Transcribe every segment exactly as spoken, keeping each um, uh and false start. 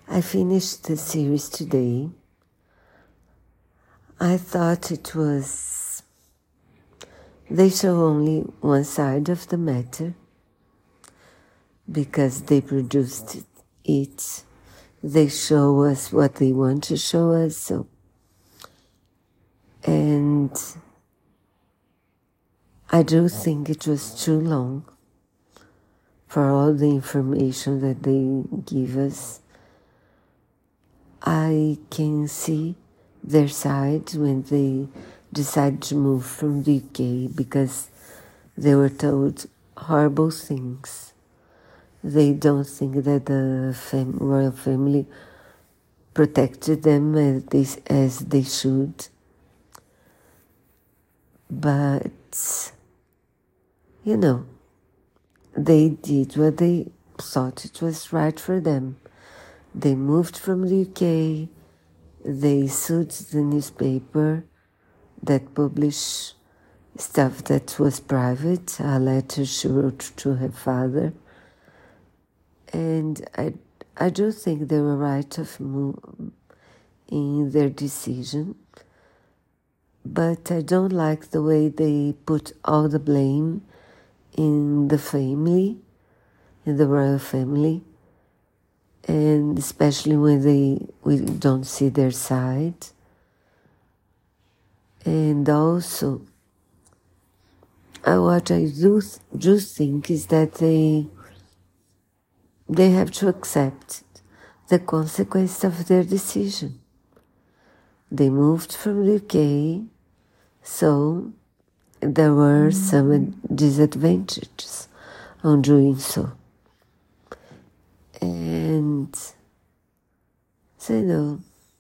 I finished the series today. I thought it was... They show only one side of the matter because they produced it. They show us what they want to show us, so... And I do think it was too long for all the information that they give us. I can see their side when they decide to move from the U K because they were told horrible things. They don't think that the fam- royal family protected them as they, as they should. But, you know, they did what they thought it was right for them. They moved from the U K, they sued the newspaper that published stuff that was private, a letter she wrote to her father. And I, I do think they were right of move in their decision. But I don't like the way they put all the blame in the family, in the royal family, and especially when they we don't see their side. And also, uh, what I do do think is that they they have to accept the consequence of their decision. They moved from the U K, so there were some disadvantages on doing so. And so, you know,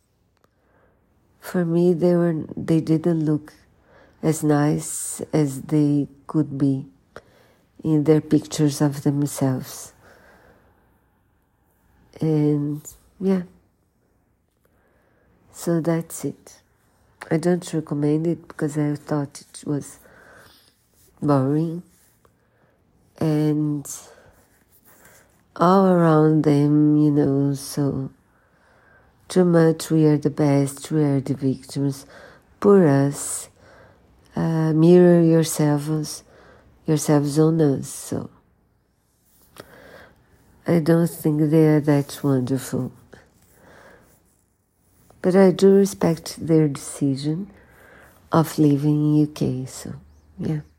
for me, they were they didn't look as nice as they could be in their pictures of themselves. And yeah. So that's it. I don't recommend it because I thought it was boring. And all around them, you know, so too much, we are the best, we are the victims. Poor us. Uh, mirror yourselves, yourselves on us. So I don't think they are that wonderful. But I do respect their decision of living in U K, so, yeah.